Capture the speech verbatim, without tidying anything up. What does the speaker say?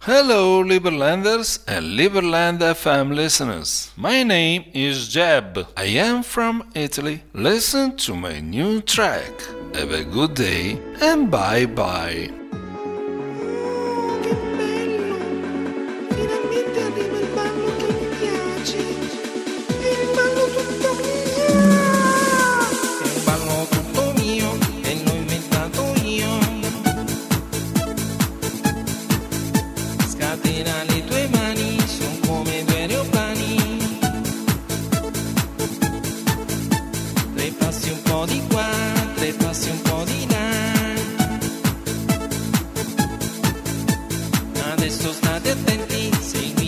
Hello, Liberlanders and Liberland F M listeners. My name is Jeb. I am from Italy. Listen to my new track. Have a good day and bye bye. Che bello! Finalmente arriva il ballo che mi piace. È il ballo tutto mio. È un ballo tutto mio e l'ho inventato io. Scatena le tue mani, sono come due aeroplani. Tre passi un po' di qua, tre passi un po' di là. Adesso state attenti, se